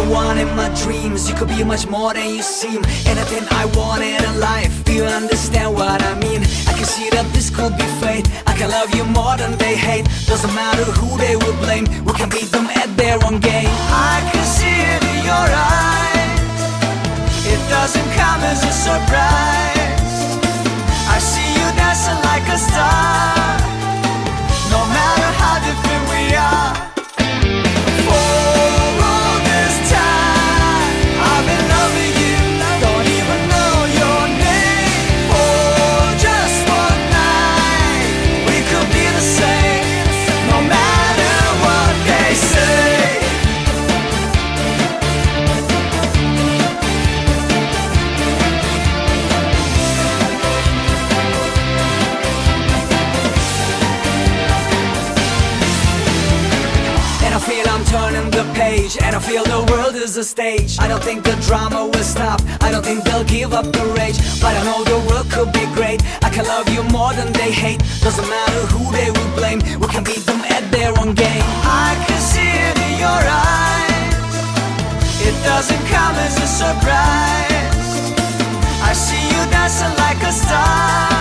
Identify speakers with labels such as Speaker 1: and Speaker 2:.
Speaker 1: one in my dreams. You could be much more than you seem. Anything I wanted in life, do you understand what I mean? I can see that this could be fate. I can love you more than they hate. Doesn't matter who they will blame, we can beat them at their own game. I can see it in your eyes, it doesn't come as a surprise. I see you dancing like a star, no matter how different we are. Turning the page, and I feel the world is a stage. I don't think the drama will stop, I don't think they'll give up the rage. But I know the world could be great, I can love you more than they hate. Doesn't matter who they will blame, we can beat them at their own game. I can see it in your eyes, it doesn't come as a surprise. I see you dancing like a star,